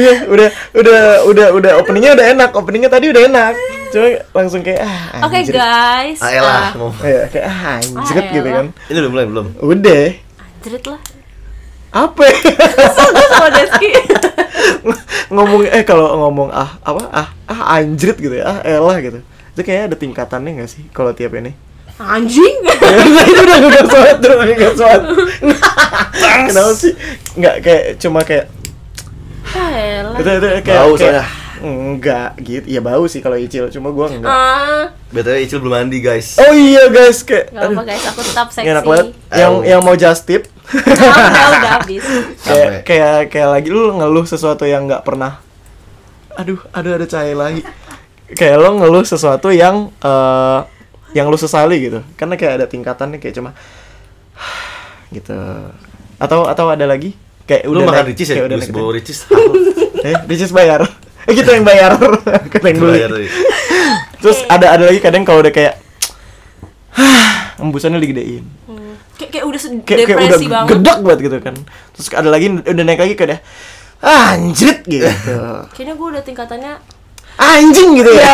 udah openingnya udah enak. Openingnya tadi udah enak. Cuma langsung kayak Oke, guys. Ayolah, kayak anjrit gitu kan. Ini udah mulai belum? Udah. Anjrit lah. Apa? Gue sama Deski. Ngomong kalau ngomong anjrit gitu ya. Elah gitu. Itu kayak ada tingkatannya enggak sih kalau tiap ini? Anjing. Itu udah enggak soal. Kenapa sih? Enggak kayak cuma kayak itu kayak bau soalnya. Enggak gitu. Ya bau sih kalau Icil, cuma gua enggak. BTW Icil belum mandi, guys. Oh iya guys, kayak Gak apa guys, aku tetap seksi. enak banget. Yang mau just tip. Udah habis. kayak lagi lu ngeluh sesuatu yang enggak pernah. Aduh ada cahaya lagi. Kayak lo ngeluh sesuatu yang lu sesali gitu. Karena kayak ada tingkatannya kayak cuma gitu. Atau ada lagi? Kayak Lu udah makan naik, ricis ya? udah Lu naik. bawa ricis. Ricis bayar. Kita yang bayar. Kita yang beli. Terus ada lagi kadang kalau udah kayak embusannya digedein. Kayak udah Kayak depresi udah banget. gedak banget gitu kan. Terus ada lagi udah naik lagi kayak anjrit gitu. Kayaknya gue udah tingkatannya Anjing gitu ya.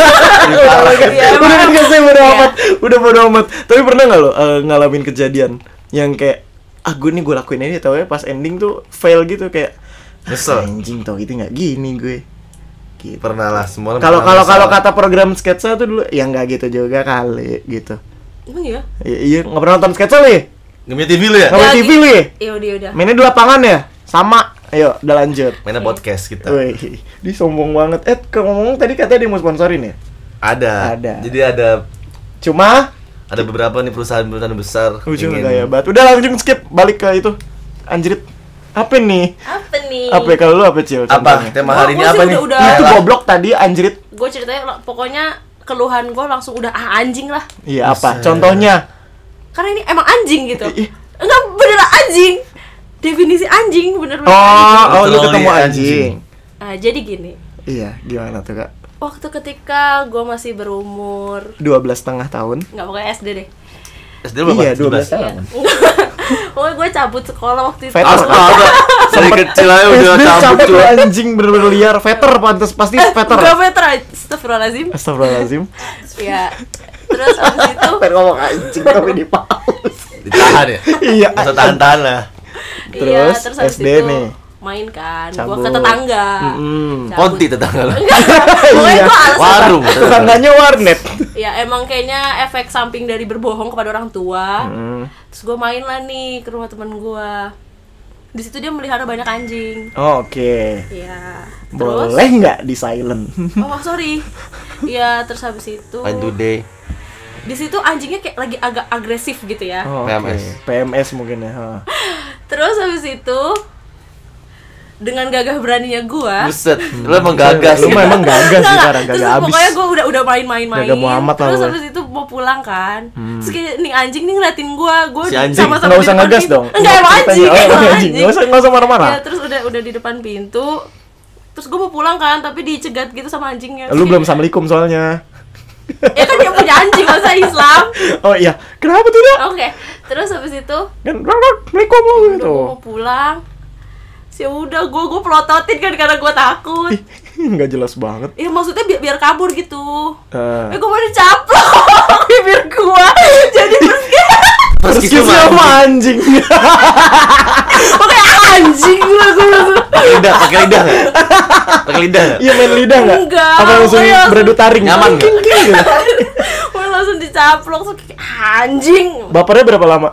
Udah kasih bodo amat. Tapi pernah nggak lo ngalamin kejadian yang kayak gue lakuin aja tau ya pas ending tuh fail gitu kayak Nyesel. anjing tau gitu nggak gini gue. Gitu. Pernah lah, semua orang. Kalau kata program sketsa tuh dulu ya nggak gitu juga kali gitu. emang ya? Iya nggak pernah nonton sketsa li? Nggak punya TV lu ya? Nggak punya TV li? Iya udah. Mainnya di lapangan ya? Sama. Ayo udah lanjut. Mainnya podcast kita. Wih, dia sombong banget. Ngomong tadi katanya dia mau sponsorin ya? Ada. Jadi Cuma ada beberapa nih perusahaan-perusahaan besar. ujung gaya banget. Udah langsung skip balik ke itu. Anjrit. Apa nih? Apa kalau lu apa Cil? Apa? Tema hari ini apa nih? Itu goblok tadi anjrit. Gue ceritanya pokoknya keluhan gue langsung udah anjing lah. Iya apa? Contohnya? Karena ini emang anjing gitu. Ih. Enggak beneran anjing. Definisi anjing bener-bener. Oh, lu Betul, ketemu iya, anjing. Nah, jadi gini. Iya, gimana tuh, Kak? Waktu ketika gue masih berumur 12,5 tahun. nggak pokoknya SD deh. SD lu berapa? Iya, 12 tahun. Pokoknya gue cabut sekolah waktu itu. Veter. Dari kecil aja udah SD cabut tuh. anjing bener-bener liar. Veter pantas pasti veter. Enggak veter, astagfirullahaladzim. Astagfirullahaladzim. Ya. Terus abis itu Pengen ngomong anjing tapi di paus. Ditahan ya? Iya. Masa tahan-tahan lah. Terus, terus abis SD itu nih. main kan, Cabut. gue ke tetangga. Mm-mm. Cabut. Konti tetangga lu. Pokoknya Iya. gue alasan. Warung. Tetangganya warnet. Ya emang kayaknya efek samping dari berbohong kepada orang tua. Mm. Terus gue main lah nih ke rumah teman gue. Di situ dia melihara banyak anjing. Oh, oke. Ya. Terus, Boleh nggak di silent? oh sorry. Ya terus habis itu. Main today. Di situ anjingnya kayak lagi agak agresif gitu ya. Oh, PMS. oke. PMS mungkin ya. Ha. Terus habis itu dengan gagah beraninya gua. Buset, lu emang gagas. Lu memang gagas sih Nggak, sekarang, terus gagak abis. pokoknya gua udah main-main. Gagah Muhammad lah Terus lu. habis itu mau pulang kan. Terus kayak nih anjing nih ngeliatin gua Si anjing, sama-sama Nggak di usah depan ngegas pintu. dong. Enggak emang anjing. Oh, Emang anjing. Nggak usah marah-marah. Ya terus udah di depan pintu. Terus gua mau pulang kan, tapi dicegat gitu sama anjingnya. Lu Terus belum assalamualaikum soalnya. ya kan dia punya anjing masa Islam. Oh iya, kenapa tidak? Oke. Terus habis itu Kan assalamualaikum lu udah gitu. gua mau pulang. Ya udah gua pelototin kan karena gua takut. Nggak jelas banget. Ya maksudnya biar kabur gitu. Eh. Gue mau dicaplok bibir gua. Jadi Meski sama anjing. pakai anjing gua. Pakai lidah nggak? Pakai lidah nggak? Iya main lidah nggak? Enggak, Apa langsung pokoknya langsung- beradu taring? Nyaman nggak? King, king, gitu. Gue langsung dicaplok terus kayak anjing. Bapernya berapa lama?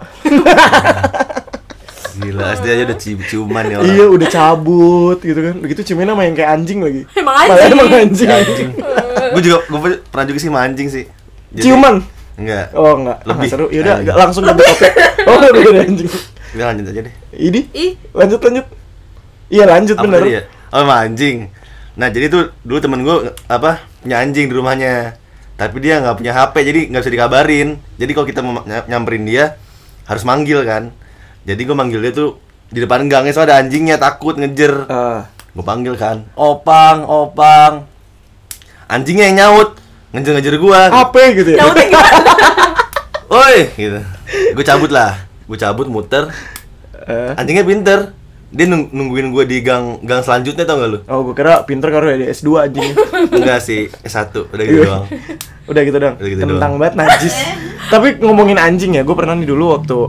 Gila, SD aja udah cium-ciuman ya orang. Iya udah cabut gitu kan. Begitu ciumin sama yang kayak anjing lagi. Emang Malah anjing. emang anjing. Anjing. Gue pernah juga sih sama anjing sih. Jadi- Ciuman? Enggak. Oh enggak. Lebih. Seru. Yaudah Anjing. langsung ganti topik. Oh udah anjing. Udah lanjut aja deh. Ini? Ih, Lanjut. Iya lanjut Apa bener. tadi ya? Oh, sama anjing. Nah, jadi tuh dulu temen gue punya anjing di rumahnya. Tapi dia nggak punya HP, jadi nggak bisa dikabarin. Jadi kalau kita mau nyamperin dia harus manggil kan. Jadi gue manggil dia tuh di depan gangnya, soalnya ada anjingnya, takut ngejer. Gue panggil kan, opang. Anjingnya yang nyaut, ngejer gue. Apa gitu ya? nyautnya gimana? Oi, gitu. Gue cabut muter. Anjingnya pinter, Dia nungguin gue di gang selanjutnya, tau gak lu? Oh, gue kira pinter karena ada S2 anjing. Enggak sih, S1, udah gitu doang. Udah gitu dong. Udah gitu Kentang doang. banget najis. Tapi ngomongin anjing ya, gue pernah nih dulu waktu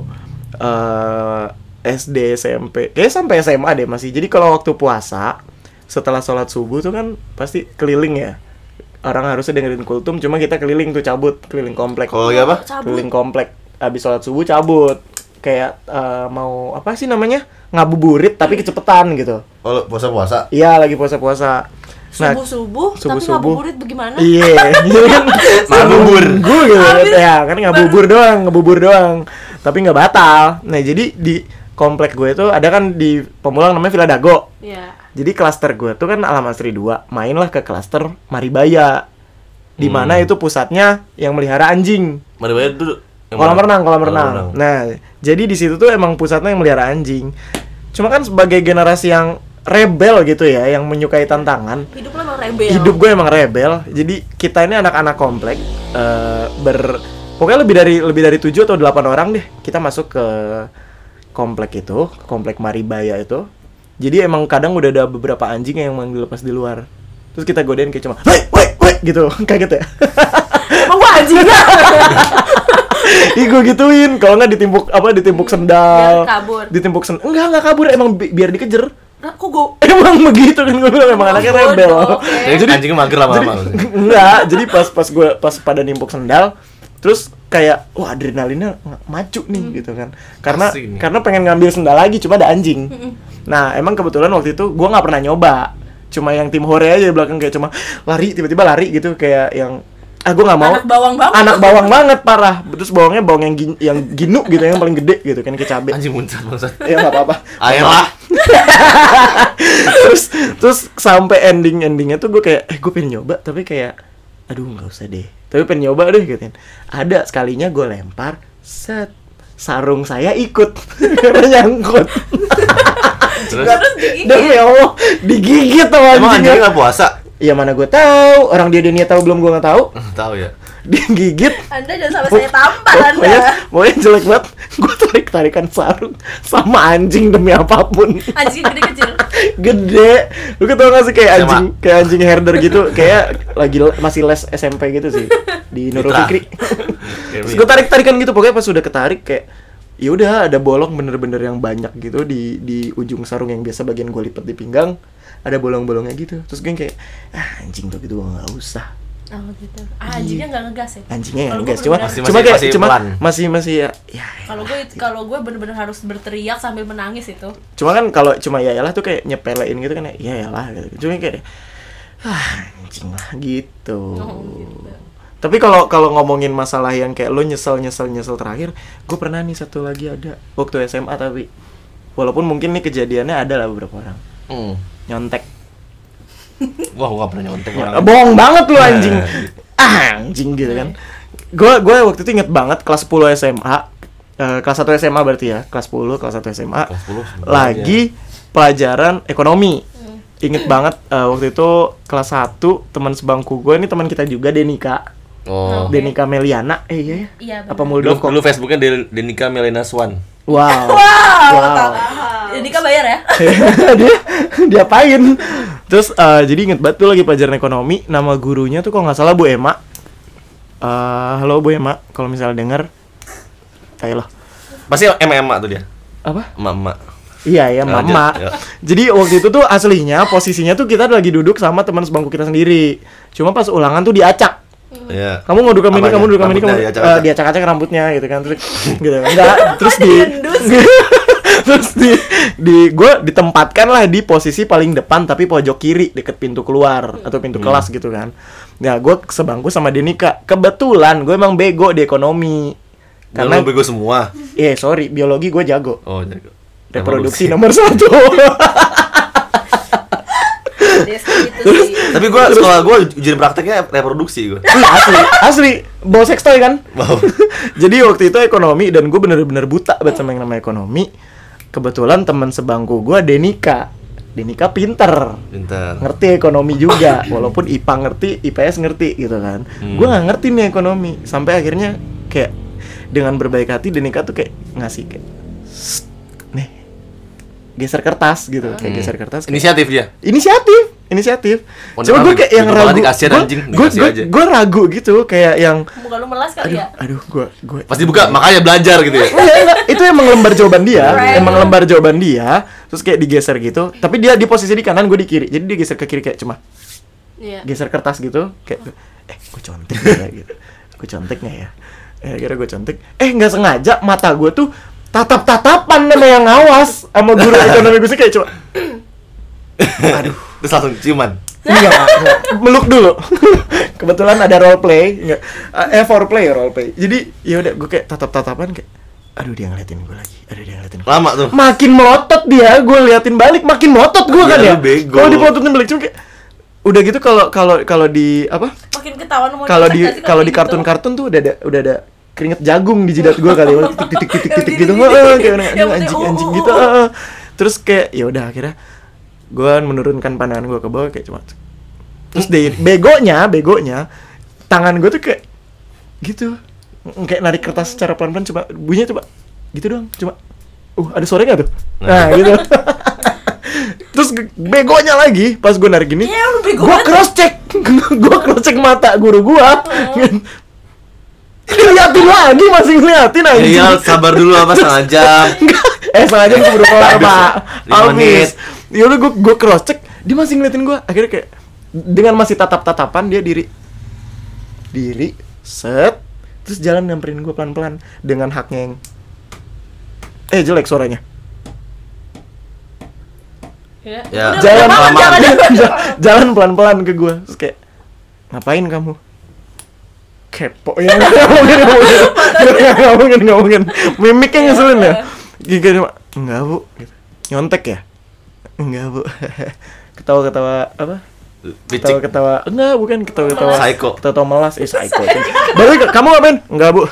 SD, SMP, kayaknya sampai SMA deh masih. Jadi kalau waktu puasa setelah sholat subuh tuh kan pasti keliling ya. Orang harusnya dengerin kultum, cuma kita keliling tuh cabut, keliling komplek. Kalau lagi apa? Cabut. Keliling komplek. Abis sholat subuh cabut. Kayak mau apa sih namanya? Ngabuburit tapi kecepetan gitu. Oh, puasa-puasa? Iya, lagi puasa-puasa. Nah, Subuh-subuh, tapi subuh-subuh. ngabuburit bagaimana? Iya, jadi kan Ngabubur. gue gitu kan. Ya, kan ngebubur doang. Tapi nggak batal. Nah, jadi di komplek gue itu ada kan di Pemulang namanya Villa Dago. Iya. Jadi klaster gue tuh kan Alam Asri 2. Mainlah ke klaster Maribaya. Di mana itu pusatnya yang melihara anjing. Maribaya dulu. Kolam renang. Nah, jadi di situ tuh emang pusatnya yang melihara anjing. Cuma kan sebagai generasi yang rebel gitu ya, yang menyukai tantangan. Hidup lo emang rebel. Hidup gue emang rebel. Jadi kita ini anak-anak komplek pokoknya lebih dari 7 atau 8 orang deh. Kita masuk ke komplek itu, komplek Maribaya itu. Jadi emang kadang udah ada beberapa anjing yang emang dilepas di luar. Terus kita godain kayak cuma, "Woi," gitu. Kaget ya. Emang gua anjingnya. Ih, gue gituin. Kalau nggak ditimpuk sendal. Biar kabur. Ditimpuk sendal. Enggak kabur, emang biar dikejar. Nah, kok gua Emang begitu kan, gue bilang emang anaknya bodoh, rebel. oke. Jadi anjingnya mager lama-lama. Enggak, jadi pas pada nimpuk sendal, terus kayak wah adrenalinnya maju nih gitu kan. Asik nih. Karena pengen ngambil sendal lagi, cuma ada anjing. Nah, emang kebetulan waktu itu gua nggak pernah nyoba. Cuma yang tim hore aja di belakang kayak cuma lari, tiba-tiba lari gitu kayak yang gue nggak mau. Anak bawang banget. Anak bawang banget parah. Terus bawangnya bawang yang ginu gitu, yang paling gede gitu kan, kayak cabe. Anjing muncrat bangsat. Ya nggak apa-apa. Air lah. terus sampai endingnya tuh gue kayak gue pengen nyoba tapi kayak aduh nggak usah deh, tapi pengen nyoba deh gitu. Ada sekalinya gue lempar, set, sarung saya ikut karena nyangkut. Terus Demi Allah digigit sama emang anjingnya anjingnya. nggak puasa? Ya mana gue tahu, orang dia tahu belum, gue nggak tahu. Tahu ya. Digigit. Anda jangan sampai saya tampar Anda. Pokoknya jelek banget. Gue tarik-tarikan sarung sama anjing demi apapun. Anjing gede kecil. Gede. Lu tau gak sih kayak Sama. anjing herder gitu, kayak lagi masih les SMP gitu sih di Nurul Mitra. Fikri. Terus gue tarik-tarikan gitu, pokoknya pas sudah ketarik kayak ya udah ada bolong bener-bener yang banyak gitu di ujung sarung yang biasa bagian gue lipat di pinggang, ada bolong-bolongnya gitu. Terus gue kayak anjing tuh gitu, gue nggak usah. Oh gitu. Anjingnya nggak ngegas ya? Anjingnya Kalau yang gua gas, cuma bener-bener- cuma kayak masih cuma pelan. masih ya Kalau gue bener-bener harus berteriak sambil menangis itu. cuma kan kalau cuma ya lah tuh kayak nyepelein gitu kan, ya lah gitu. Cuma kayak anjing lah gitu. Oh, gitu. Tapi kalau ngomongin masalah yang kayak lo nyesel terakhir, gue pernah nih satu lagi ada waktu SMA, tapi walaupun mungkin nih kejadiannya ada lah beberapa orang nyontek. Wah, gua nggak pernah nyontek orang. Bohong banget lu anjing. Anjing gitu kan. Gue waktu itu inget banget kelas 10 SMA. Kelas 1 SMA berarti ya. Kelas 10, kelas 1 SMA. Kelas 10 Lagi pelajaran ekonomi. Inget banget waktu itu kelas 1 teman sebangku gue, ini teman kita juga, Denika. Oh. Denika Meliana. Iya ya. Iya, Apa bener. Dulu, Muldoko? dulu Facebooknya Denika Melena Swan. Wow. Wow. Ini kan bayar ya? dia apain? Terus jadi inget banget tuh lagi pelajaran ekonomi, nama gurunya tuh kalau nggak salah Bu Ema. Halo Bu Ema, kalau misalnya denger, ayolah. Pasti emak tuh dia. Apa? Emak. Iya ya, Lanjut, mama. ya. Jadi waktu itu tuh aslinya posisinya tuh kita lagi duduk sama teman sebangku kita sendiri. Cuma pas ulangan tuh diacak. Iya. Kamu mau duduk ini, Apanya? kamu duduk ini, kamu Rambutnya diacak-acak? diacak-acak rambutnya gitu kan, terus gitu. Enggak, terus Diendus. terus di gue ditempatkan lah di posisi paling depan tapi pojok kiri deket pintu keluar atau pintu kelas gitu kan. Nah, gue sebangku sama Denika. Kebetulan gue emang bego di ekonomi. Karena Karena bego semua. sorry, biologi gue jago. Oh, jago. Reproduksi nomor 1. Gitu sih. Tapi gua sekolah gua ujian prakteknya reproduksi gua. asli bawa sextoy kan. Wow. Jadi waktu itu ekonomi dan gue bener-bener buta banget sama yang namanya ekonomi. Kebetulan teman sebangku gue Denika pinter, ngerti ekonomi juga, walaupun IPA ngerti, IPS ngerti gitu kan. Gue nggak ngerti nih ekonomi, sampai akhirnya kayak dengan berbaik hati Denika tuh kayak ngasih kayak nih geser kertas gitu, kayak geser kertas. Inisiatif dia. Inisiatif. Oh, Cuma gue kayak yang bego ragu. banget, kasihan anjing, dikasih aja. Gue ragu gitu, kayak yang Muka lu melas kali ya? aduh gue Pasti buka, makanya belajar gitu ya. enggak, itu emang lembar jawaban dia, Right. emang lembar jawaban dia, terus kayak digeser gitu, tapi dia di posisi di kanan, gue di kiri, jadi dia geser ke kiri kayak cuma Iya. geser kertas gitu, kayak gue contek nggak ya gitu, gue contek nggak ya, kira gue contek, nggak sengaja mata gue tuh tatap-tatapan sama yang ngawas, sama guru ekonomi gue sih kayak cuma, aduh. Terus langsung ciuman. Enggak, meluk dulu. Kebetulan ada role play, enggak. Foreplay ya role play. Jadi ya udah gue kayak tatap-tatapan kayak aduh dia ngeliatin gue lagi. Lama tuh. Makin melotot dia, gue liatin balik makin melotot gue kan Iya, ya. lu bego. Kalau dipelototin balik cuma kayak udah gitu kalau di apa? Makin ketahuan mau Kalau nyesek di nggak sih kalau di kayak kartun-kartun tuh udah ada keringet jagung di jidat gue kali, titik gitu. Kayak Yang anjing gitu. Terus kayak ya udah akhirnya gue menurunkan pandangan gue ke bawah kayak cuma terus begonya tangan gue tuh kayak gitu kayak narik kertas secara pelan-pelan coba bunyinya coba gitu doang cuma ada suara nggak tuh nah gitu terus begonya lagi pas gue narik gini Iya, lu bego gue banget. cross check mata guru gue liatin lagi masih ngeliatin aja Iya, sabar dulu apa setengah jam. setengah jam keburu kelar pak 5 menit. yaudah gue cross check dia masih ngeliatin gue akhirnya kayak dengan masih tatap-tatapan dia diri set terus jalan nyamperin gue pelan-pelan dengan haknya yang jelek suaranya Ya. Ya. Udah, jalan jangan. jalan pelan-pelan ke gue terus kayak ngapain kamu kepo ya nggak mungkin mimiknya ngeselin ya gitu enggak bu gitu. Nyontek ya enggak bu ketawa apa Picik. ketawa enggak bukan ketawa Psycho. ketawa melas psycho baru kamu ngapain enggak bu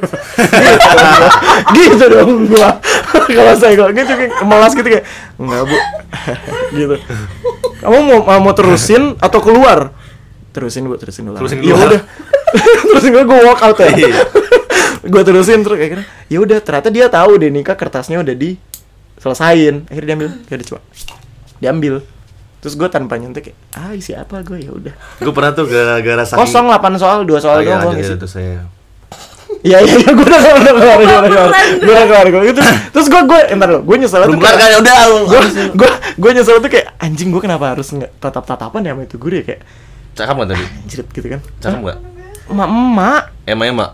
gitu dong gua kalau psycho gitu kayak melas gitu kayak enggak bu gitu kamu mau terusin atau keluar terusin dulu Terusin ya keluar. udah terusin gue walk out ya Iya. gue terusin terus kayak ya udah ternyata dia tahu deh nikah kertasnya udah diselesain akhirnya diambil terus gue tanpa nyontek kayak isi apa gue ya udah Gue pernah tuh gara-gara saking 8 soal 2 soal iya, doang gue iya, ngisi itu saya. iya gue udah keluar terus gue entar lo gue nyesel Belum tuh kelar kan ya udah. gue nyesel tuh kayak anjing gue kenapa harus tatap-tatapan ya sama itu guru ya kayak Cakep enggak tadi? anjir gitu kan Cakep enggak? emak Ema.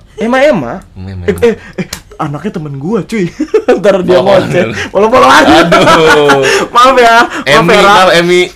anaknya temen gua cuy ntar dia Follow-followan. ngoceh follow-followan Aduh. maaf ya Emi.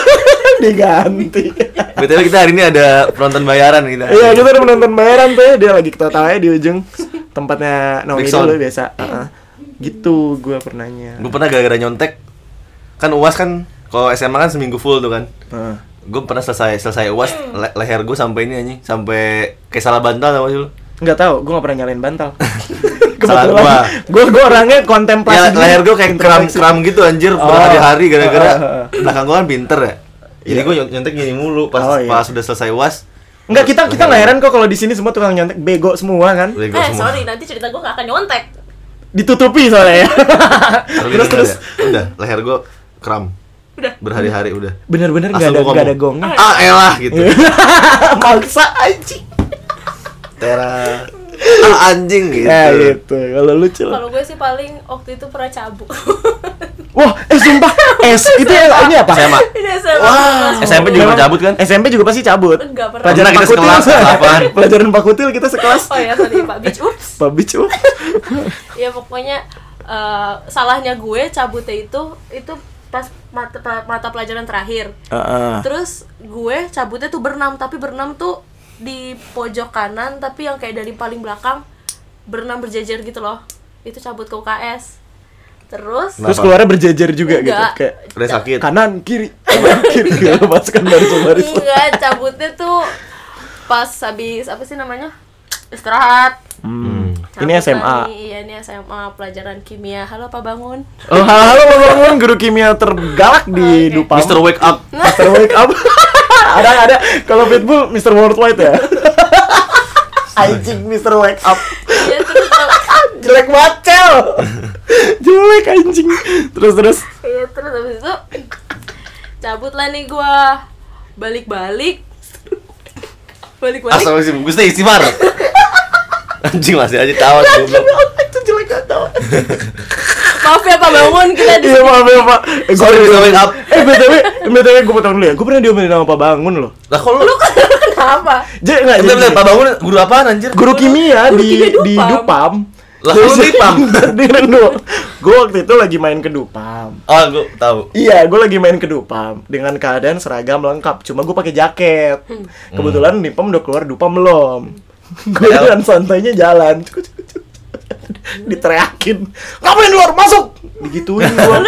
diganti BTW kita hari ini ada penonton bayaran kita. iya kita udah menonton bayaran tuh dia lagi ketawa-tawanya di ujung tempatnya Naomi Big Sound. dulu biasa gitu gua pernahnya Gue pernah gara-gara nyontek. Kan UAS kan kalau SMA kan seminggu full tuh kan. Gue pernah selesai UAS leher gue sampai ini anjing, sampai kayak salah bantal tau sih lu. nggak tahu gua nggak pernah nyalain bantal Salah gua orangnya kontemplasi Ya dulu. leher gue kayak kram gitu anjir berhari-hari gara-gara Oh. belakang gue kan pinter ya. Jadi gue nyontek gini mulu pas Oh, iya. pas sudah selesai UAS. Enggak, kita nggak heran kok kalau di sini semua tukang nyontek bego semua kan. Bego semua. Sorry, nanti cerita gue gak akan nyontek. Ditutupi soalnya ya. Kalau terus gitu nggak ada. Udah leher gue kram. Udah. Berhari-hari udah. Bener-bener Asal nggak gua ada ngomong. gongnya. Ah elah gitu. Maksa anjing. Tera. Anjing gitu. Ya gitu. Kalau lucu lah. Kalau gue sih paling waktu itu pernah cabut. Wah, sumpah. Itu ini apa? SMA. Ini SMA. Wah, SMP juga Memang cabut kan? SMP juga pasti cabut. Enggak pernah. Pelajaran Pernah kita Pak Kutil. sekelas, apaan? Pelajaran Pak Kutil kita sekelas. Oh ya, sorry Pak Beach. Ups. Pak Bic. Ya pokoknya salahnya gue cabutnya itu pas mata pelajaran terakhir. Terus gue cabutnya tuh berenam, tapi berenam tuh di pojok kanan, tapi yang kayak dari paling belakang berenam berjejer gitu loh. Itu cabut ke UKS. Terus keluarnya berjejer juga gitu. Enggak. Kayak Udah sakit. kanan kiri gitu masukkan baris. enggak, cabutnya tuh pas habis apa sih namanya? Istirahat. Ini Cabut SMA. lagi. Iya, ini SMA pelajaran kimia. Halo Pak Bangun. Oh, halo bangun guru kimia tergalak di Oke. Dupam. Mr. Wake Up. Mr. Wake Up. ada. Kalau Pitbull Mr. Worldwide ya. Anjing Mr. Wake Up. Iya, terus Jelek bacel. Jelek anjing. Terus terus habis itu cabut lah nih gua. Balik-balik. Astagfirullahaladzim, Gusti istighfar. Anjing masih aja tawa goblok. Itu jelek gak tahu. Maaf ya Pak Bangun, kita di Iya maaf ya Pak. Sorry bisa wake up. BTW gue potong dulu ya. Gue pernah diomelin sama Pak Bangun loh. Lah kok lu kenapa? Jadi enggak bener Pak Bangun guru apaan anjir? guru kimia Guru di kimia Dupam. Lah lu Dipam. Dengerin dulu. Gue waktu itu lagi main ke Dupam. Oh, gua tahu. Iya, gue lagi main ke Dupam dengan keadaan seragam lengkap. Cuma gue pakai jaket. Kebetulan Dipam udah keluar, Dupam belum. Gue dengan santainya jalan. Diteriakin, ngapain luar, masuk, digituin gua,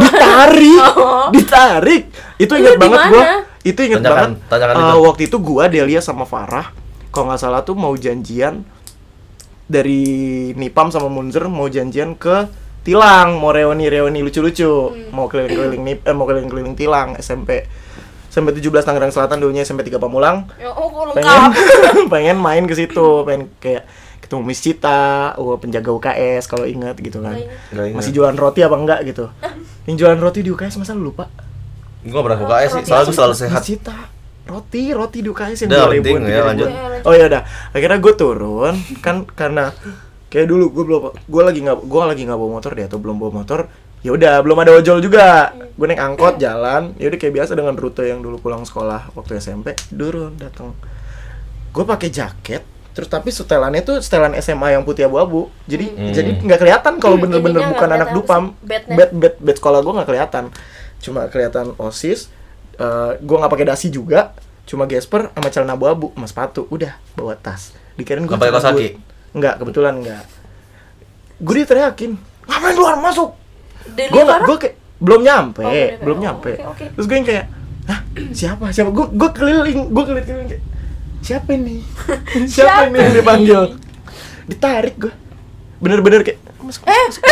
ditarik, itu ingat banget gua, itu ingat banget. Waktu itu gua, Delia sama Farah, kalau nggak salah tuh mau janjian dari Nipam sama Munzer mau janjian ke Tilang, mau reuni lucu-lucu, mau keliling-keliling Tilang SMP 17 Tangerang Selatan, dulunya SMP 3 Pamulang. Pengen main ke situ, pengen kayak ketemu Miss Cita, penjaga UKS kalau ingat gitu kan. Masih jualan roti apa enggak gitu. Yang jualan roti di UKS masa lu lupa? Gua pernah UKS sih, soalnya gua selalu sehat. Miss Cita. Roti di UKS yang udah penting ya, lanjut. Oh ya udah. Akhirnya gue turun kan karena kayak dulu gue lagi nggak bawa motor deh atau belum bawa motor. Ya udah, belum ada ojol juga. Gue naik angkot jalan. Ya udah kayak biasa dengan rute yang dulu pulang sekolah waktu SMP. Turun datang. Gue pakai jaket. Terus tapi setelannya tuh setelan SMA yang putih abu-abu. Jadi nggak kelihatan kalau bener-bener bukan anak Dupam. Bed sekolah gue nggak kelihatan. Cuma kelihatan OSIS. Gue nggak pakai dasi juga. Cuma gesper sama celana abu-abu, sama sepatu. Udah bawa tas. Dikirain gue pakai kaos kaki. Enggak, kebetulan enggak. Gue diteriakin, ngapain luar masuk? Gue kayak belum nyampe. Okay. Terus gue yang kayak, hah, siapa? Gue keliling kayak, siapa ini yang dipanggil? Ditarik gue, bener-bener kayak masuk.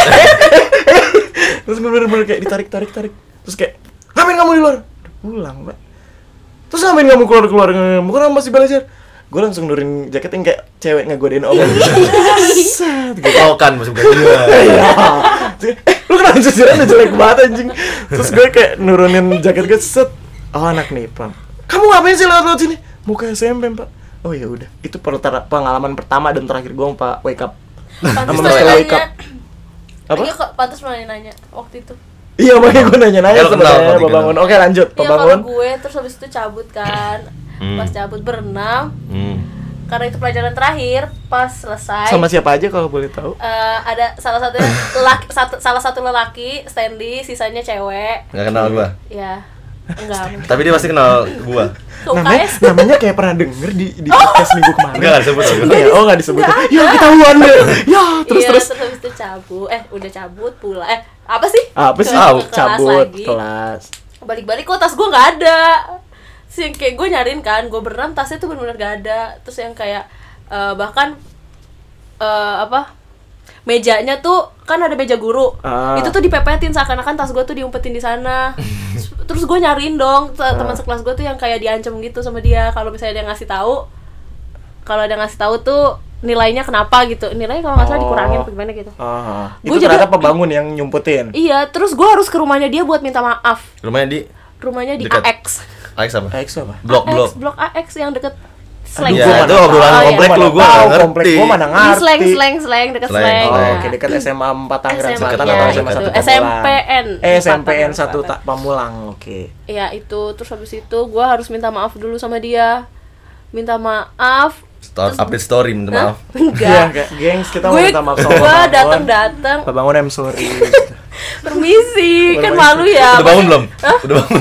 Terus gue bener-bener kayak ditarik. Terus kayak, ngapain kamu di luar? Udah pulang, Mbak. Terus ngapain kamu keluar? Bukan masih belajar? Gue langsung nurin jaket yang kayak cewek ngegodain om. Gue tau kan masuk dia. Lu kenapa jujurnya jelek banget anjing. Terus gue kayak nurunin jaket gue set. Oh anak Nipam. Kamu ngapain sih lewat sini? Mau ke SMP Pak. Oh ya udah. Itu pengalaman pertama dan terakhir gue Pak wake up. Pantes wake up. Apa? Iya kok pantes nanya waktu itu. Iya makanya gue nanya sebenarnya Pak Bangun. Oke lanjut Pak Bangun. Iya gue terus habis itu cabut kan. Pas cabut berenam. Karena itu pelajaran terakhir, pas selesai. Sama siapa aja kalau boleh tahu? Ada salah satu lelaki, Stanley, sisanya cewek. Nggak kenal gua. Iya. Enggak. Tapi dia pasti kenal gua. Namanya kayak pernah denger di podcast minggu kemarin. Enggak disebut. Enggak disebut. Ya ketahuan deh. Ya, terus. Terus habis itu cabut. Udah cabut pulang. Apa sih? Cabut kelas. Balik-balik kok tas gua enggak ada. Sih kayak gue nyariin kan, gue berenam tasnya tuh benar-benar gak ada. Terus yang kayak bahkan mejanya tuh kan ada meja guru. Itu tuh dipepetin seakan-akan tas gue tuh diumpetin di sana. Terus gue nyariin dong teman sekelas gue tuh yang kayak diancam gitu sama dia kalau misalnya dia ngasih tahu. Kalau dia ngasih tahu tuh nilainya kenapa gitu. Nilainya kalau nggak salah dikurangin apa gimana gitu. Itu ternyata Pak Bangun yang nyumpetin. Iya, terus gue harus ke rumahnya dia buat minta maaf. Rumahnya di dekat. AX apa? Blok AX yang deket Slang. Ya, itu obrolan komplek lu, gua enggak ngerti. Komplek gua mana ngerti. Slang dekat Slang. Oke, dekat SMA 4 Tangerang Selatan atau SMA 1 SMPN. SMPN 1 Pamulang. Oke. Iya, itu terus habis itu gua harus minta maaf dulu sama dia. Minta maaf. Update story minta maaf. Enggak. Gengs, kita mau minta maaf sama gua datang. Pak Bangun, I'm sorry. Permisi, kan malu ya. Udah bangun belum? Udah bangun.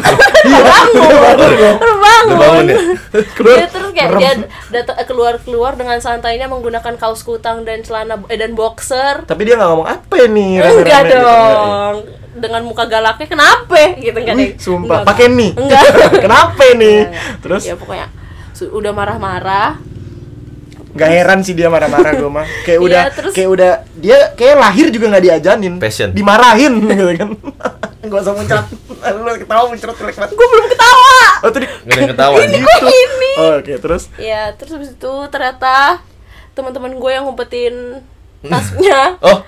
Udah bangun ya? Dia terus kayak dia keluar dengan santainya menggunakan kaos kutang dan celana dan boxer. Tapi dia nggak ngomong apa nih. Enggak dong. Dengan muka galaknya kenapa gitu kan deh. Sumpah, pakai nih. Enggak. Kenapa nih? Terus ya pokoknya udah marah-marah. Gak heran sih dia marah-marah gue mah. Kayak udah dia kayak lahir juga nggak diajanin. Passion. Dimarahin gitu kan. Gak usah muncrat. Lu ketawa muncrat jelek banget. Gue belum ketawa. Oh tadi gak ada yang ketawa gitu. Ini. Oh, oke, terus? Ya, terus habis itu ternyata teman-teman gue yang ngumpetin tasnya.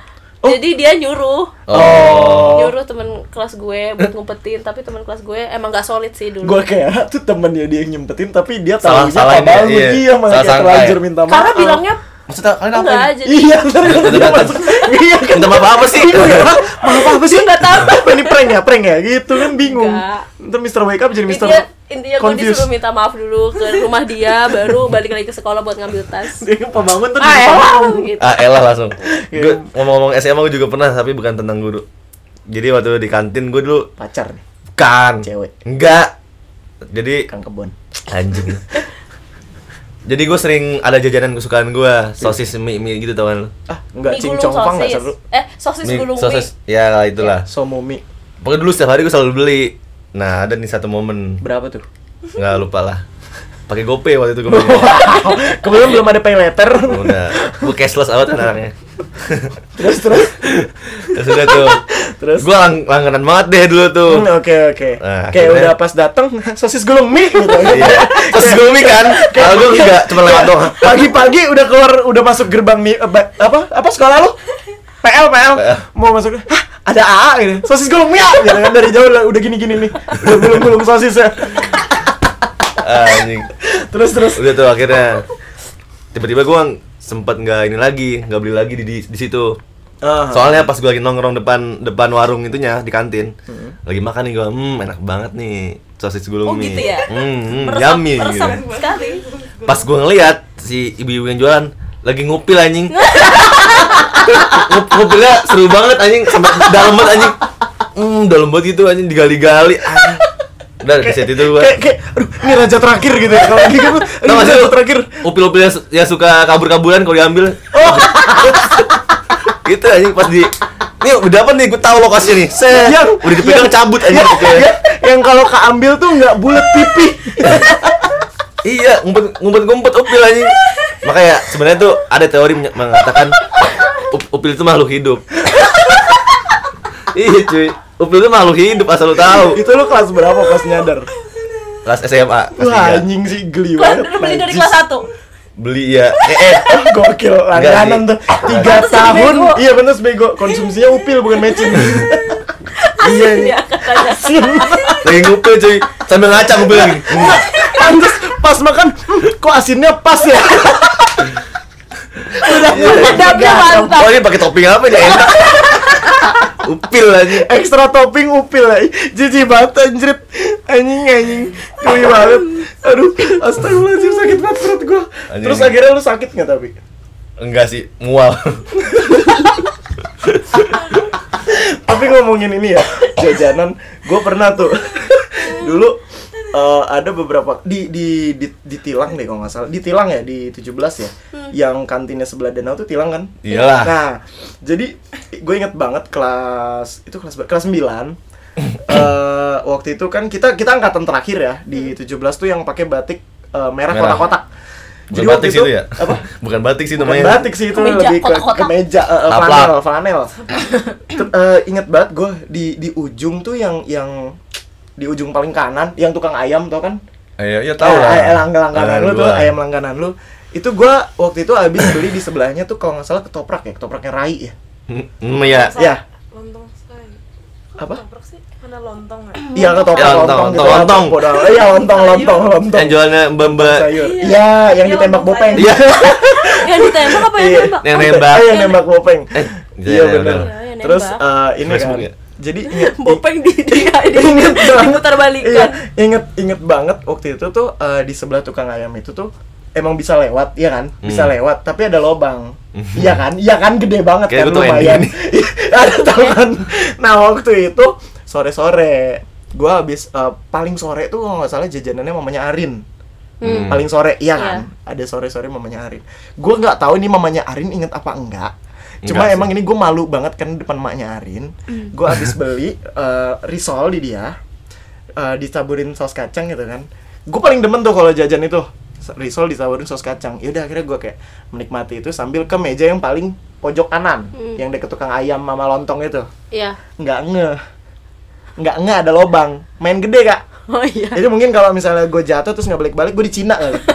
Jadi dia nyuruh temen kelas gue buat ngumpetin, tapi temen kelas gue emang gak solid sih dulu. Gue kayak tuh temennya dia yang nyempetin, tapi dia Salah- tahunya salah apa ini, iya malah kayak terlanjur minta maaf. Karena bilangnya Maksudnya kalian apa? enggak, jadi Iya, ntar dia masuk. Iya kan. Minta maaf apa sih? Maaf apa sih? Nggak tahu. Apa ini prank ya? Gitu kan bingung. Enggak. Ntar Mr. Wake Up jadi Mr. intinya gue Confused. disuruh minta maaf dulu ke rumah dia, baru balik lagi ke sekolah buat ngambil tas. Dia pembangun tuh Gitu. Elah langsung. Gue ngomong-ngomong SMA gue juga pernah, tapi bukan tentang guru. Jadi waktu di kantin gue dulu pacar nih, kan cewek, enggak. Jadi kang kebon. anjing. Jadi gue sering ada jajanan kesukaan gue, sosis mie gitu tau kan lu? Enggak Mie gulung cincong nggak sosis. seru. Sosis Mie- gulung sosis, mie. ya itulah. Somumi Pokoknya dulu setiap hari gue selalu beli. Nah ada nih satu momen, berapa tuh? nggak lupa lah. Pakai GoPay waktu itu gue beli. Kemudian belum ada pay letter. Udah, gue cashless banget anaknya. terus Terus udah tuh. Terus? Gue langganan banget deh dulu tuh. Oke. Nah, Kayak akhirnya- udah pas dateng sosis gulung mie gitu. Iya. Terus gue mie kan, kalau gue enggak cuma lewat doang. Pagi-pagi udah keluar, udah masuk gerbang nih apa sekolah lu? PL mau masuk. Hah, ada AA gitu. Sosis gulung mie gitu kan, dari jauh udah gini-gini nih. Udah gulung-gulung sosis ya. Anjing. Terus Udah tuh akhirnya tiba-tiba gue sempet nggak ini lagi, nggak beli lagi di situ. Soalnya pas gue lagi nongkrong depan warung itunya di kantin, lagi makan nih gue, enak banget nih sosis gulung mie. Gitu ya? Yummy Meresap gitu. sekali. Pas gue ngeliat si ibu-ibu yang jualan lagi ngupil anjing. Ngupilnya seru banget anjing, sampai dalam banget anjing. Dalam banget gitu anjing, digali-gali anjing. Udah di set itu gua. Kayak aduh, ini raja terakhir gitu ya. Kalau lagi kan Tau gak sih raja lu terakhir. upil-upil yang suka kabur-kaburan kalau diambil. Gitu anjing pas di nih udah apa nih, gue tahu lokasinya nih. Set. Udah dipegang cabut anjing gitu ya. Yang kalau keambil tuh nggak bulat pipi. Iya, ngumpet upil anjing. Makanya sebenarnya tuh ada teori mengatakan upil itu makhluk hidup. Iya cuy, upil itu makhluk hidup asal lu tahu. Itu lu kelas berapa pas nyadar? Kelas SMA. Kelas Wah, 3. anjing sih geli Kelas banget. dulu beli dari Najis. kelas 1. Beli ya. Gokil, langganan sih. tuh 3 Pantes jadi tahun. bego. Iya bener bego. Konsumsinya upil bukan mecin. Iya Dia katanya. asin. Lagi ngupil cuy, sambil ngaca ngupil lagi. Pantes pas makan, kok asinnya pas ya? Udah Pedapnya mantap. Oh ini pakai topping apa nih enak? Upil aja. ekstra topping upil ya. Jijik banget anjrit. Anjing. Geli banget. Aduh, astagfirullahaladzim, sakit banget perut gua. Anjing. Terus akhirnya lu sakit nggak tapi? Enggak sih, mual. Tapi ngomongin ini ya, jajanan, gue pernah tuh dulu ada beberapa di Tilang deh kalau nggak salah, di Tilang ya, di 17 ya, yang kantinnya sebelah danau tuh Tilang kan? Iyalah. Nah, jadi gue inget banget kelas 9 waktu itu kan kita angkatan terakhir ya di 17 tuh yang pakai batik merah Merah. kotak-kotak. Bukan batik sih itu ya? Apa? Bukan batik sih Bukan namanya. batik sih itu, Kemeja, lebih ke kotak-kotak. kemeja, Taplak. flanel. Ingat banget gue di ujung tuh yang di ujung paling kanan yang tukang ayam tau kan? Iya tahu lah. Langganan lu tuh, ayam langganan lu. Itu gue waktu itu abis beli di sebelahnya tuh kalau nggak salah ketopraknya Rai ya. Iya. Ya, Lontong sekali. apa? Ketoprak sih, mana lontong nggak? Iya ketoprak Ya, lontong gitu. lontong. Iya lontong. Yang jualnya Mbak. Sayur. Iya, yang Iya, ditembak lontong bopeng. Iya. Yang ditembak apa yang Iya. nembak? Yang nembak. Yang nembak bopeng. Iya iya, benar. benar. Iya, yang Terus nembak. ini kan. Facebook ya? Jadi inget Bopeng di Ingat banget. diputar Iya, balikan. inget banget waktu itu tuh di sebelah tukang ayam itu tuh emang bisa lewat, iya kan? Bisa lewat, tapi ada lobang. Iya kan? Gede banget Kayak kan gua tahu lumayan. ending Ada tahu kan. Nah, waktu itu sore-sore gua habis paling sore tuh kalau nggak salah jajanannya mamanya Arin. Paling sore, iya kan? Ada sore-sore mamanya Arin. Gua nggak tahu ini mamanya Arin inget apa enggak. Cuma Enggak emang sih. ini gue malu banget kan depan maknya Arin. Gue habis beli risol di dia, ditaburin saus kacang gitu kan. Gue paling demen tuh kalau jajan itu risol ditaburin saus kacang. Yaudah akhirnya gue kayak menikmati itu sambil ke meja yang paling pojok kanan, yang deket tukang ayam mama lontong itu. Iya. Nggak nge ada lobang. Main gede kak. Oh iya. Jadi mungkin kalau misalnya gue jatuh terus nggak balik-balik, gue di Cina kali.